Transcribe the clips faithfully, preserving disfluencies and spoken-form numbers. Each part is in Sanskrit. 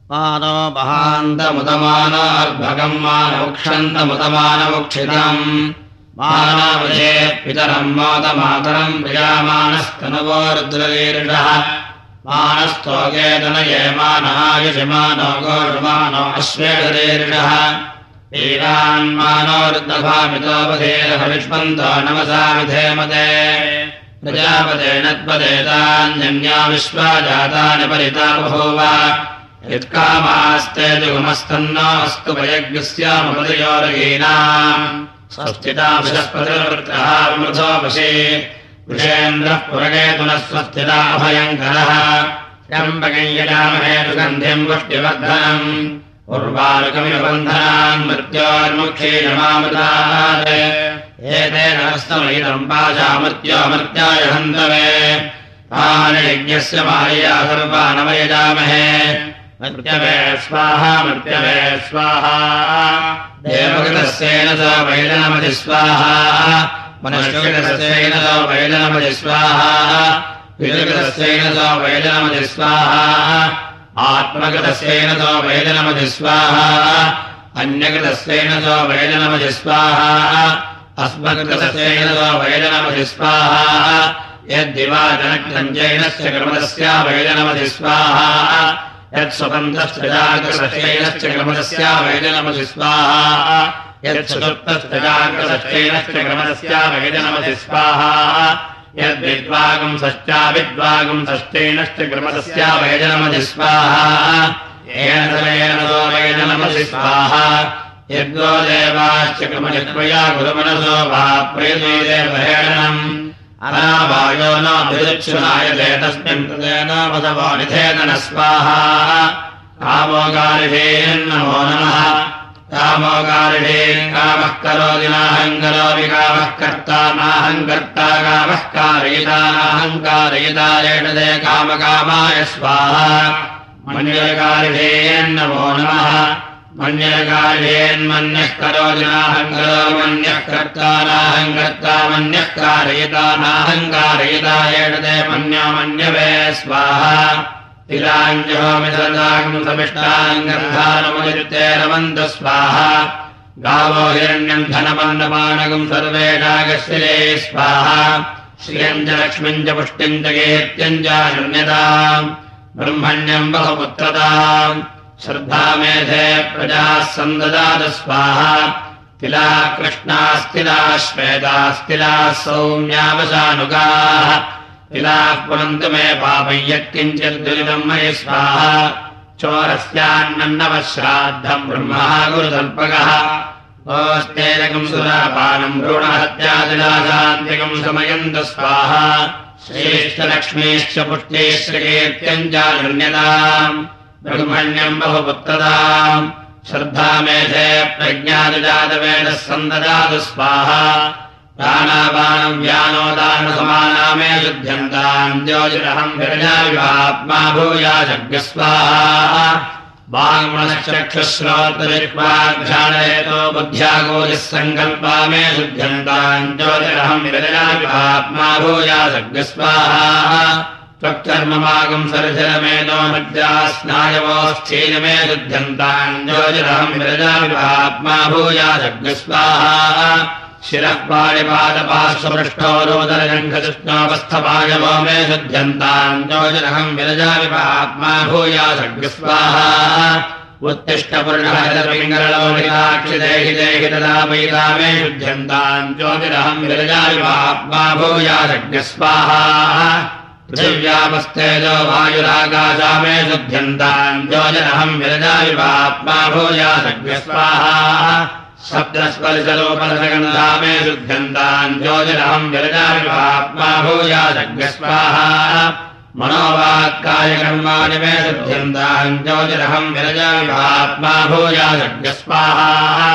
मानो महान्तमुदमानार्भगम् मानमुक्षन्तमुदमानमुक्षितम् मानावधे पितरम् मोदमातरम् प्रियामानस्तनुवो रुद्रवीरुषः मानस्तोके तनये मानायुषमानो गोषमानो अश्वेषरीरुषः वीरान्मानो रुद्रभामितोपधेरहविष्मन्तो नमसा विधेमते प्रजापते नत्पदेतान्यन्या विश्वा जातानि परिता बभूव यत्कामास्ते जुगुमस्तन्नो अस्तु भयज्ञस्यामपदयोरगीनाम् स्वस्तिता बृहस्पतिर्वृत्रः विमृधोपशे वृषेन्द्रः पुरकेतुनः स्वस्तिता अभयङ्करः त्र्यम्बकं यजामहे सुगन्धिम् पुष्टिवर्धनम् उर्वारुकमिव बन्धनान् मृत्योर्मुक्षीयमामृतात् एतेन हस्तमयितम् पाशामृत्योमर्त्याय हन्तवे तानि यज्ञस्य मायया सर्वानवयजामहे मर्त्यवे स्वाहा मर्त्यवे स्वाहा देवकृतस्येन स वैलनमति स्वाहा मनुष्यकृतस्येन स वैलनमति स्वाहा विलकृतस्येन स वैलनमति स्वाहा आत्मकृतस्येन स वैलनमति स्वाहा अन्यकृतस्येन स वैलनमति स्वाहा अस्मकृतस्येन स वैलनमति स्वाहा यद्दिवाजनक्रञ्जैनस्य क्रमदस्य वैलनमति स्वाहा यत्स्वतन्त्रश्च क्रमदस्य वैलनमति स्वाहा यत्चतुर्थश्च क्रमदस्य वैलनमति स्वाहा यद्विद्वागुंसश्चाविद्वागुंसश्चैनश्च क्रमदस्य वैलनमति स्वाहा येन वैलनमति स्वाहा यद्गो देवाश्च क्रमजत्वया गुरुमनसो वा प्रेतो देवहेणनम् अनावायो नाभिरुच्छुनायते तस्मिन् कृतेन वदवानिधेन न स्वाहा कामोगारिषेन्नमो नमः कामोगारिषेन् कामः करोति नाहम् करोमि कामः कर्ता नाहम् कर्ता कामः कारयिता नाहम् कारयिता येषते कामकामाय स्वाहा मन्यकारिषेन्नमो नमः मन्यकार्येन्मन्यः करोति नाहम् करोमि मन्यः कर्ता नाहम् कर्ता मन्यः कारयिता नाहम् कारयिता येषते मन्यो मन्यवे स्वाहा तिलाञ्जहोमि सदागम् समिष्टाम् गर्भानमुदिते रमन्तु स्वाहा गावो हिरण्यम् धनमन्नपानकम् सर्वेषागशिले स्वाहा श्रियम् च लक्ष्मीम् च पुष्टिम् च कीर्त्यम् च शून्यताम् ब्रह्मण्यम् बहुपुत्रताम् श्रद्धामेधे प्रजाः सन्ददातु स्वाहा तिला कृष्णास्तिलाः श्वेतास्तिलाः सौम्यावसानुगाः तिलाः पुनन्तु मे पापं यत्किञ्चिद्दुरितम् मयि स्वाहा चोरस्यान्नवः श्राद्धम् ब्रह्मः गुरुतल्पकः ओस्तेजकम् सुरापानम् भ्रूणहत्यादिलाशान्तिकम् समयन्तु स्वाहा श्रेष्ठलक्ष्मीश्च पुष्ट्यैश्च कीर्त्यम् च शून्यताम् ब्रह्मण्यम् बहुपुत्रताम् श्रद्धामेधे प्रज्ञादिजातवेदः सन्ददातु स्वाहा प्राणापानम् व्यानोदानसमानामे शुध्यन्ताम् ज्योतिरहम् विरजाविवात्मा भूयाशग्य स्वाहा वाङ्मनश्चक्षुश्रोत्रजिह्वाघ्राणयतो बुद्ध्यागोदिः सङ्कल्पा मे शुध्यन्ताम् ज्योतिरहम् विरजाविवात्मा भूयाशग्य स्वाहा त्वक्कर्ममागम् सरजरमेनो मज्जा स्नायवोश्चैनमे शुध्यन्ताम् ज्योतिरहम् विरजाविवात्मा भूयाशग्य स्वाहा शिरः पाणिपादपार्श्वपृष्ठो रोदरजङ्घकृष्णोपस्थपायवो मे शुध्यन्ताम् ज्योतिरहम् विरजाविवात्मा भूयाशग्य स्वाहा उत्तिष्ठपुरुषहरितपिङ्गललोहिताक्षि देहि देहि तदा वैदा मे शुध्यन्ताम् ज्योतिरहम् विरजाविवात्मा भूयाशग्य स्वाहा पृथिव्यापस्तेजो वायुराकाशा मे शुध्यन्ताम् ज्योतिरहम् विरजाविवात्मा भूयाशग्य स्वाहा सप्तस्पर्शलोपरसगन्धा मे शुध्यन्ताम् ज्योतिरहम् विरजाविवात्मा भूयाशग्य स्वाहा मनोवाक्कायकर्माणि मे शुध्यन्ताम् ज्योतिरहम् विरजाविवात्मा भूयाशग्य स्वाहा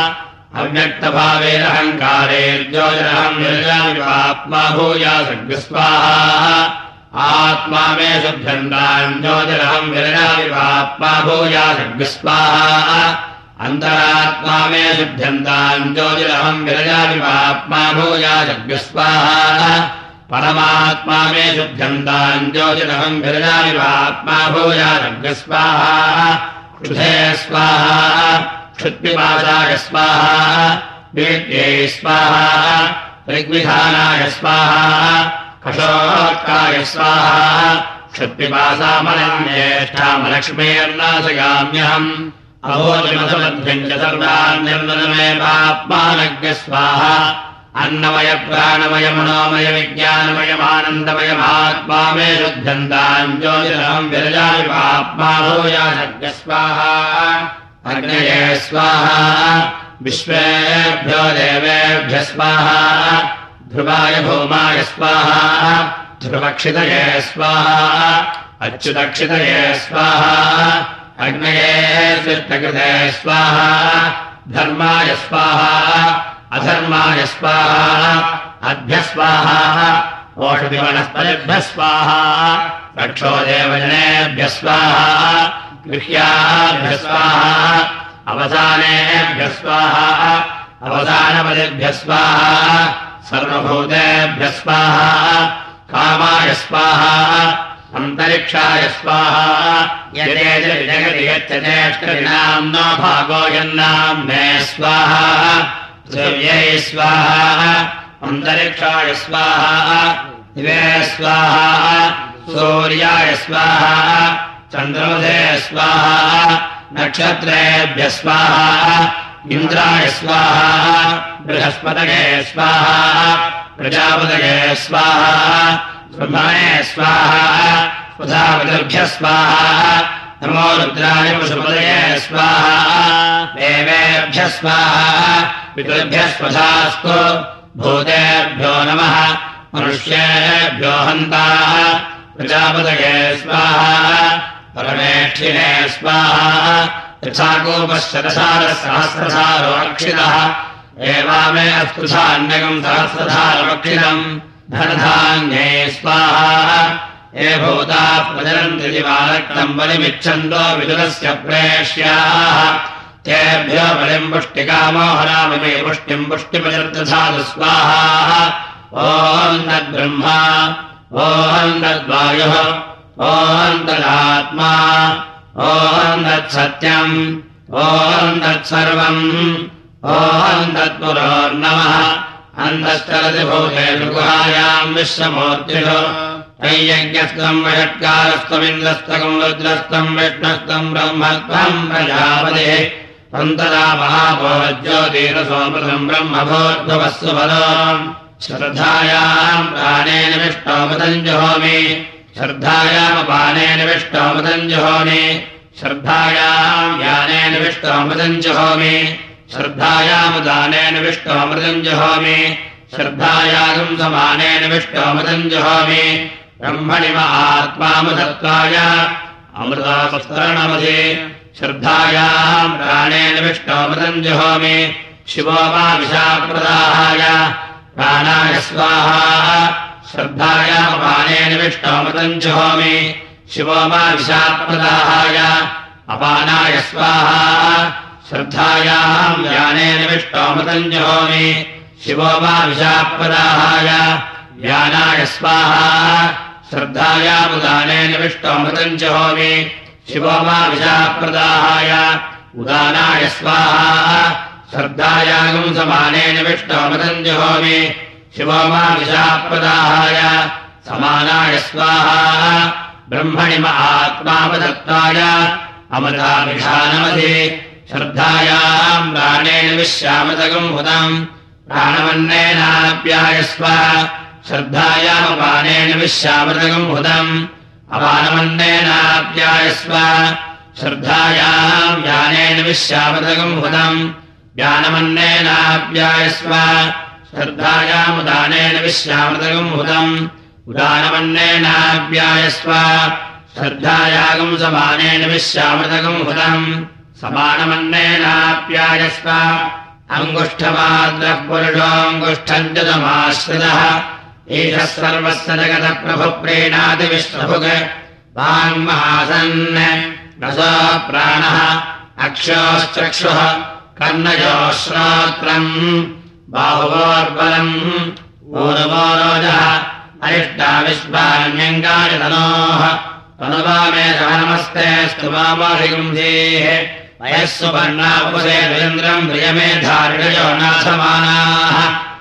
अव्यक्तभावेरहङ्कारेर्ज्योतिरहम् विरजाविवात्मा भूयाशग्य स्वाहा आत्मा मे शुध्यन्ताम् ज्योतिरहम् विरजाविवात्मा भूयाशग्य स्वाहा अन्तरात्मा मे शुध्यन्ताम् ज्योतिरहम् विरजाविवात्मा भूयाशग्य स्वाहा परमात्मा मे शुद्धन्ताम् ज्योतिरहम् विरजाविवात्मा भूयाशग्य स्वाहा क्षुधे स्वाहा क्षुत्पिपासाय स्वाहा वेद्यै स्वाहा ऋग्विधानाय स्वाहा कषोत्काय स्वाहा क्षुत्पिपासामलन्येष्ठामलक्ष्मीर्नाशगाम्यहम् अभोजमसमध्यम् च सर्वान् निर्मलमेवात्मानज्ञ स्वाहा अन्नमय प्राणमय मनोमय विज्ञानमयमानन्दमयमात्मा मे शुद्धन्ताम् ज्योतिरहम् विरजामि पाप्मा भूयासज्ञ स्वाहा अग्नये स्वाहा विश्वेभ्यो देवेभ्यः स्वाहा ध्रुवाय भौमाय स्वाहा ध्रुवक्षितये स्वाहा अच्युतक्षितये स्वाहा अग्नये सृष्टकृते स्वाहा धर्माय स्वाहा अधर्माय स्वाहा अभ्यः स्वाहा ओषधिवनस्पतिभ्यः स्वाहा रक्षोदेवजनेभ्यः स्वाहा गृह्याभ्यः स्वाहा अवसानेभ्यः स्वाहा अवसानपदिभ्यः स्वाहा सर्वभूतेभ्यः स्वाहा कामाय स्वाहा अन्तरिक्षाय स्वाहा यदे जगति यच्चेष्टनाम्नो भागो यन्नाम्ने स्वाहा पृथिव्यै स्वाहा अन्तरिक्षाय स्वाहा दिवे स्वाहा सूर्याय स्वाहा चन्द्रमसे स्वाहा नक्षत्रेभ्यः स्वाहा इन्द्राय स्वाहा बृहस्पतये स्वाहा प्रजापतये स्वाहा ब्रह्मणे स्वाहा प्रजापतिभ्यः स्वाहा नमो रुद्राय पशुपतये स्वाहा देवेभ्यः स्वाहा पितृभ्यः स्वधास्तु भूतेभ्यो नमः मनुष्येभ्यो हन्ताः प्रजापतये स्वाहा परमेष्ठिने स्वाहा यथाकूपश्चरसारः सहस्रसारो रक्षितः एवामे अस्पृशान्यकम् सहस्रसारमक्षितम् धनधान्ये स्वाहा ये भूताः प्रचरन्ति दिवारक्तम् बलिमिच्छन्तो विदुरस्य प्रेष्याः तेभ्यो बलिम् पुष्टिकामो हरामि पुष्टिम् पुष्टिपचर्दधातु स्वाहा ॐ तद्ब्रह्मा ॐ तद्वायुः ॐ तदात्मा ॐ तत्सत्यम् ॐ तत्सर्वम् ॐ तत्पुरोर्नमः अन्तश्चरति भूतेषु गुहायाम् विश्वमूर्तिषु यज्ञस्तम् वषट्कारस्तमिन्द्रस्तकम् रुद्रस्तम् विष्णस्तम् ब्रह्मत्वम् प्रजापतिः त्वम् तदा महाभो ज्योतिरसोमृतम् ब्रह्मभूर्भुवस्सु फलो श्रद्धायाम् प्राणेन विष्णोमृतम् जुहोमि श्रद्धायामपानेन विष्णोमृतम् जुहोमि श्रद्धायाम् ज्ञानेन विष्णोमृतम् जुहोमि श्रद्धायामुदानेन विष्णोमृतम् जुहोमि श्रद्धायागम् समानेन विष्णोमृतम् जुहोमि ब्रह्मणि महात्मामुदत्वाय अमृतापस्तरणमधि श्रद्धायाम् प्राणेन विष्णोमृतम् जुहोमि शिवो मा विशाप्रदाहाय प्राणाय स्वाहा श्रद्धायामपानेन विष्णोमृतम् जुहोमि शिवो मा विशाप्रदाहाय अपानाय स्वाहा श्रद्धायाम् ज्ञानेन विष्णोमृतम् जुहोमि शिवो मा विशाप्रदाहाय ज्ञानाय स्वाहा श्रद्धायामुदानेन विष्णोमृतम् जुहोमि शिवो मा विशाप्रदाहाय उदानाय स्वाहा श्रद्धायागम् समानेन विष्णोमृतम् जुहोमि शिवो मा विशाप्रदाहाय समानाय स्वाहा ब्रह्मणि महात्मापदत्ताय अमृताभिधानमधि श्रद्धायाम् प्राणेन विश्वामृतकम् हुतम् प्राणमन्नेनाप्यायस्व श्रद्धायामपानेन विश्वामृतकम् हुतम् अपानमन्नेनाप्यायस्व श्रद्धायाम् ज्ञानेन विश्वामृतकम् हुतम् ज्ञानमन्नेनाप्यायस्व श्रद्धायामुदानेन विश्वामृतकम् हुतम् उदानमन्नेनाप्यायस्व श्रद्धायागम् समानेन विश्वामृतकम् हुतम् समानमन्नेनाप्यायस्व अङ्गुष्ठमाद्रः पुरुषोऽङ्गुष्ठम् च तमाश्रितः एषः सर्वस्य जगतः प्रभुप्रीणाति विश्वभुक् वाङ्महासन् रसो प्राणः अक्षोश्चक्षुः कर्णयोः श्रोत्रम् बाहुवोर्बलम् ऊर्वो रोजः अरिष्टा विश्वान्यङ्गानि तनोः अनुवामे नमस्ते स्तुमामाहिगुंधीः मयः सुपर्णापुसे वीन्द्रम् प्रियमेधारिणयो नाथमानाः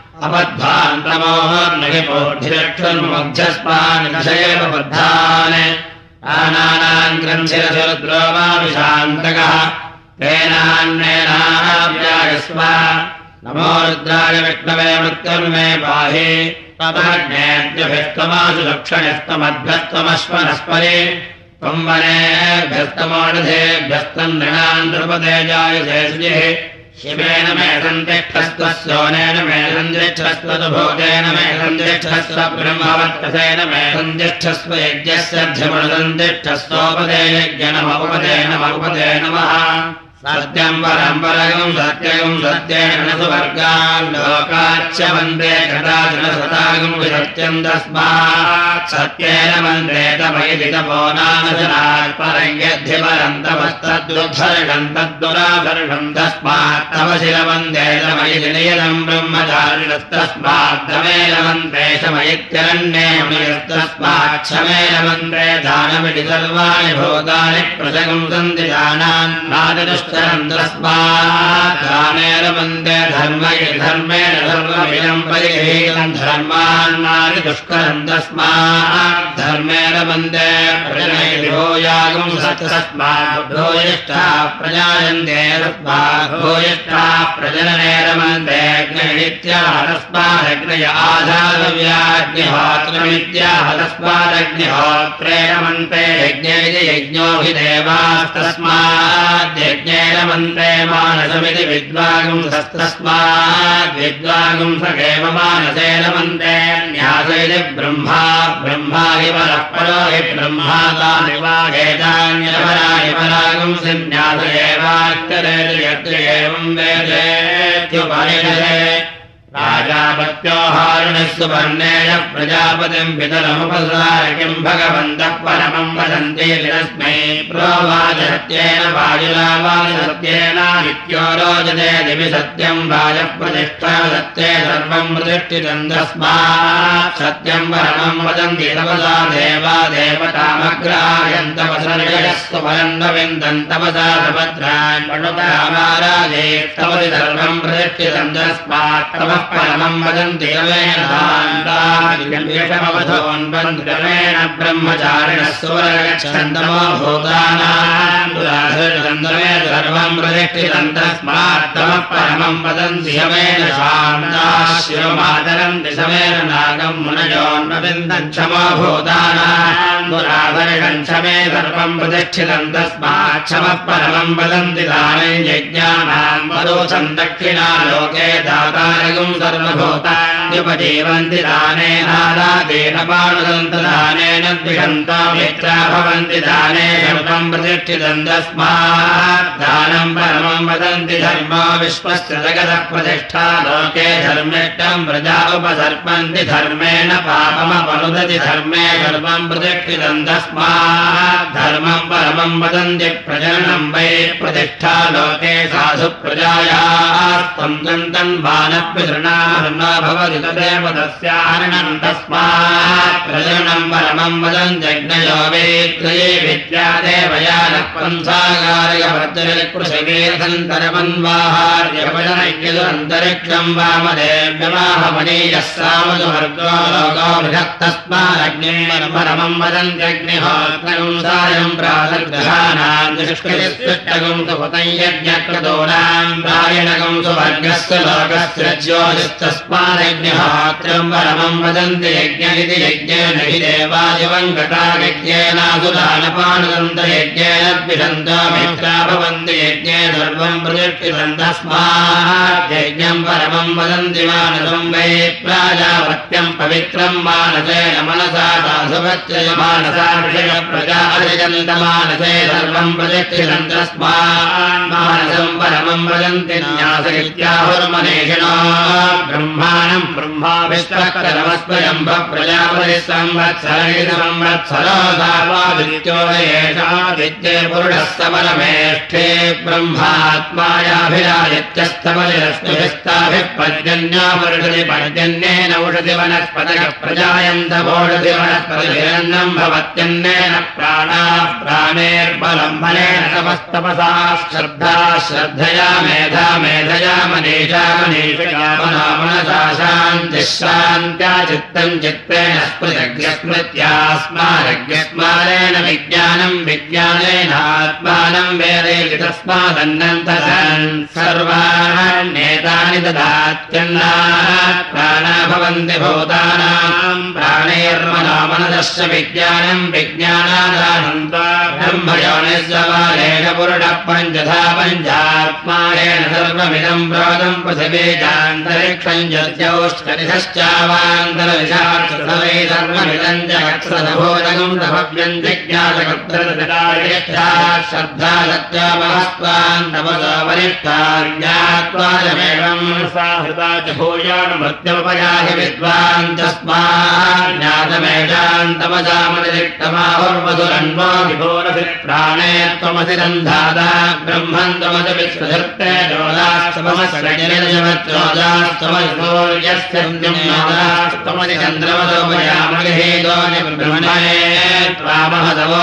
अपद्भान्तमोहर्नहिपोढिरक्षुर्मुग्धस्मानिदशयेव बद्धान् आनानाम् ग्रन्थिरसुरुद्रो माविशान्तकः तेनान्नेनाव्यायस्व नमो रुद्राय विष्णवे मृत्युर्मे पाहि तमग्नेऽद्यभिस्तमासु लक्षणस्तमद्भ्यस्तमश्वनस्परे त्वम् वनेभ्यस्तमोढधेभ्यस्तम् नृणाम् नृपतेजायुषे श्रियः शिवेन मे सन्तिष्ठस्त्वस्योनेन मे सन्तिष्ठस्त्वतुभूतेन मे सन्तिष्ठस्व ब्रह्मवर्चसेन मे सन्तिष्ठस्व यज्ञस्य ध्यमनुसन्तिष्ठस्वोपदे यज्ञनमोपदे नमोपदे नमः सत्यम् परम् परगम् सत्यगम् सत्येन न सुवर्गान् लोकाच्च वन्दे कदाचन सतागम् विसत्यम् तस्मात् सत्येन वन्दे तमयि तपो नामशनात् परम् यद्धि परम् तपस्तद्दुर्धर्षम् तद्दुराधर्षम् तस्मात् तव शिरवन्दे तमयि नियतम् ब्रह्मचारिणस्तस्मात् तमेन वन्दे शमयित्यरण्येमयस्तस्मात् क्षमेन वन्दे दानमिति सर्वाणि भूतानि प्रसगम् सन्ति दानान् नाददुष्ट तस्मात् दानेन वन्दे धर्म धर्मेण धर्ममिदम् परिगृहीतम् धर्मान्नानि दुष्करम् तस्मात् धर्मेण वन्दे प्रजनयति भूयागम् तस्मात् भूयिष्ठाः प्रजायन्ते तस्मात् भूयिष्ठाः प्रजननेन वन्दे अग्निरित्याह तस्मादग्नय आधारव्याग्निहोत्रमित्याह तस्मादग्निहोत्रेण वन्दे यज्ञेति यज्ञोऽभिदेवास्तस्मात् यज्ञेन वन्दे मानसमिति विद्वागुं तस्मात् विद्वागुं सगेव मानसेन वन्दे न्यासेति ब्रह्मा ब्रह्मा हि परः परो हि ब्रह्मा तानि वागेतान्यपराणि परागुं सिन्यास एवाच्यते यत्र एवं वेदेत्युपनिषदे राजापत्योहारिणः सुवर्णेय प्रजापतिम् पितरमुपसार किम् भगवन्तः परमम् वदन्ति तस्मै प्रोवाच सत्येन वायुरावाच सत्येनादित्यो रोचते दिवि सत्यम् वाजप्रतिष्ठा सत्ये सर्वम् प्रतिष्ठितम् तस्मात् सत्यम् परमम् वदन्ति तपसा देवा देवतामग्रायन्तपसर्यस्तु परन्नविन्दम् तपसा सपत्रान् पणुतामाराजे तपसि सर्वम् प्रतिष्ठितम् तस्मात् तपः परमम् वदन्ति यमेन दान्तान्वधोन्वन्द्रमेण ब्रह्मचारिणः सुवर्गच्छन्दमो भूतानाम् दुराधर्षन्दमे सर्वम् प्रतिष्ठितम् तस्मात् तमः परमम् वदन्ति यमेन शान्ताः शिवमादरन्ति समेन नागम् मुनयोन्वविन्दम् क्षमो भूतानाम् दुराधर्षम् क्षमे सर्वम् प्रतिष्ठितम् तस्मात् क्षमः परमम् वदन्ति दानम् यज्ञानाम् वरोचम् दक्षिणा लोके दातारगुम् सर्वभूतान्युपजीवन्ति दानेनादादेन पाणुदन्तदानेन द्विषन्तो मित्रा भवन्ति दाने सर्वम् प्रतिष्ठितम् तस्मात् दानम् परमम् वदन्ति धर्मो विश्वस्य जगतः प्रतिष्ठा लोके धर्मिष्ठम् प्रजा उपसर्पन्ति धर्मेण पापमपनुदति धर्मे सर्वम् प्रतिष्ठितम् तस्मात् धर्मम् परमम् वदन्ति प्रजननम् वै प्रतिष्ठा लोके साधु प्रजायाः त्वम् बाणः भवति तदेव तस्याहरणम् तस्मात् प्रजननम् परमम् वदन्त्यग्नयो वेत्रये विद्यादेवयानः पन्थागारकवर्तरिकृषिवेदन्तरमन्वाहार्यभजनैक्यदुरन्तरिक्षम् वामदेव्यमाहमनीयः सामजुवर्गो लोको बृहत्तस्मादग्निम् परमम् वदन्त्यग्निहोत्रम् सायम् प्रातर्ग्रहाणाम् दुष्कृतिस्पृष्टगुम् सुपतम् यज्ञक्रतूनाम् प्रायणगुम् सुवर्गस्य लोकस्य तस्मादग्निहोत्रम् परमम् वदन्ति यज्ञ इति यज्ञेन हि देवादिवम् गता यज्ञेनासुदानपानुदन्तयज्ञेन द्विषन्तो मित्रा भवन्ति यज्ञे सर्वम् प्रतिष्ठितम् तस्मात् यज्ञम् परमम् वदन्ति मानसम् वै प्राजापत्यम् पवित्रम् मानसेन मनसा दासुवच्चय मानसा प्रजा अर्जन्तमानसे सर्वम् प्रतिष्ठितम् तस्मात् मानसम् परमम् वदन्ति न्यास इत्याहुर्मनीषिणो ब्रह्माणम् ब्रह्मा विश्वकरमस्वयम्भ प्रजापतिः संवत्सरः संवत्सरो सावादित्यो एषा विद्ये पुरुषस्तमलमेष्ठे ब्रह्मात्मायाभिरादित्यस्तमलिरश्मिभिस्ताभिपर्जन्यामरुषति पर्जन्येन उषति वनस्पतयः प्रजायन्तमोषति वनस्पतिभिरन्नम् भवत्यन्नेन प्राणाः प्राणेर्बलम् बलेन तपस्तपसा श्रद्धा श्रद्धया मेधा मेधया मनीषा मनीषया मना मनसा शान्तिः शान्त्या चित्तम् चित्तेन स्मृतज्ञस्मृत्या स्मारज्ञस्मारेण विज्ञानम् विज्ञानेनात्मानम् वेदेति तस्मादन्नन्तरन् सर्वाण्येतानि ददात्यन्नात् प्राणा भवन्ति भूतानाम् प्राणैर्मनो मनसश्च विज्ञानम् विज्ञानादानन्ता ब्रह्मयोनिस्वमारेण पुरुषः पञ्चधा पञ्चात्मारेण सर्वमिदम् प्रोदम् पृथिवीजान्तरिक्षम् यद्यौष्कनिधश्चावान्तरविशाक्षसवै सर्वमिदम् जगत्सदभूतकम् तभव्यम् जिज्ञासकर्तृतदायच्छा श्रद्धा सत्यामहस्त्वान् तपसो वरिष्ठाज्ञात्वादमेवम् साहृता च भूयानुमृत्युपयाहि विद्वान् तस्मात् ज्ञातमेषाम् तपसामतिरिक्तमाहुर्मधुरन्वो विभोरसि प्राणे त्वमसि रन्धाता ब्रह्मन् त्वमसि विश्वधर्ते जोदास्तमस्रजनिर्जमत्रोदास्तमसि सूर्यस्य त्वमसि चन्द्रमसोपयामगहेदो ब्रह्मणे त्वामहतवो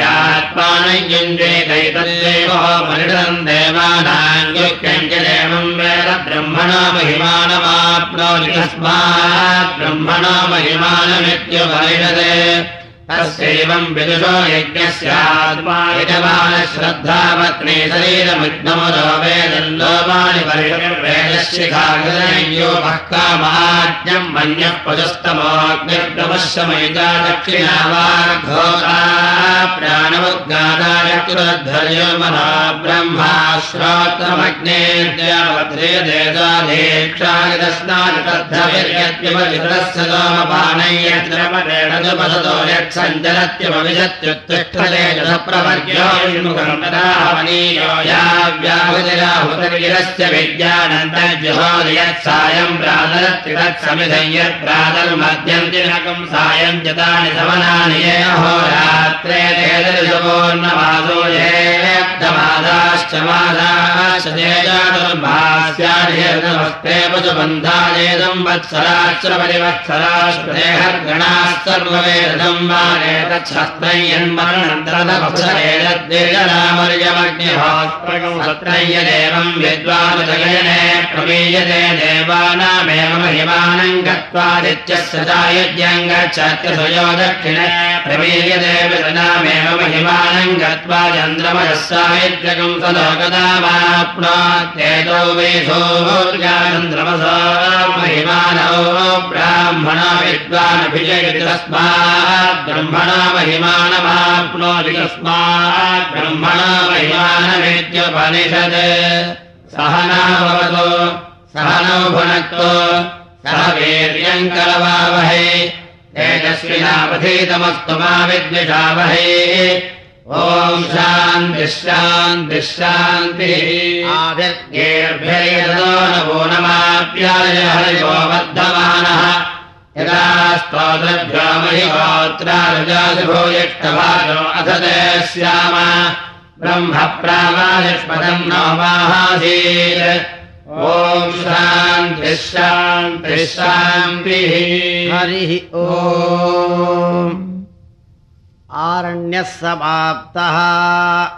मिथ्यात्मानयुञ्जेतैतद्देवो मनिषदम् देवानाम् युक्यम् च देवम् वेद ब्रह्मणो महिमानमाप्नोति तस्मात् ब्रह्मणो महिमानमित्युपनिषदे तस्यैवम् विदुषो यज्ञस्यात्मा यजमानश्रद्धापत्नी शरीरमिग्नमुदो वेदल्लोमानि परिषद्वेदशिखाग्रयोपः कामाज्ञम् मन्यः पशुस्तमोऽग्निर्गमश्रमयिता दक्षिणा वाग्घोता प्राणमुद्गादाय कृध्वर्यो मनो ब्रह्मा श्रोत्रमग्नेर्द्यावध्रे देशाधीक्षायतस्नानि तद्धविर्यद्विपवितरस्य सोमपानय्यद्रमरेणदुपसतो यत् सञ्चरत्यमविशत्युत्तिष्ठते जलप्रवर्ग्योन्मुखम् तदाहवनीयो याव्याहुतिराहुतर्गिरस्य विज्ञानन्तर्जुहोति यत् सायम् प्रातरत्ति तत्समिधम् यत् प्रातर्मध्यम् दिनकम् सायम् च तानि समनानि ये अहोरात्रे तेजरिषपूर्णमासो येऽब्धमादाश्च मादाश्च तेजातुर्भास्यादिहृतमस्ते पशुबन्धायेदम् वत्सराश्च परिवत्सराश्च सर्ववेदम् यदेवम् विद्वानुदगयने प्रमीयते देवानामेव महिमानम् गत्वादित्यस्य चायुज्यम् गच्छत्यसयो दक्षिणे प्रमीयते विदनामेव महिमानम् गत्वा चन्द्रमयः सायुज्यकम् सलोकदामाप्नोत्येतो वेधोर्गाचन्द्रमसा महिमानौ ब्राह्मणो विद्वानभिजयति तस्मात् ब्रह्मणा महिमानमाप्नोति तस्मात् ब्रह्मणा महिमानमित्युपनिषत् सहना भवतु सहनौ भुनक्तु सह वीर्यम् करवावहै तेजस्विनावधीतमस्तु मा विद्विषावहै ॐ शान्तिः शान्तिः शान्तिः आभिर्गेर्भिर्यतो नवो नमाप्याय हरिवो वर्धमानः यदा स्तोत्रभ्यो महिहोत्रारुजादिभूयिष्ठभाजो अथ ते स्याम ब्रह्म प्रावादिष्पदम् नो माहासीत् ॐ शान्तिः शान्तिः शान्तिः हरिः ॐ आरण्यः समाप्तः।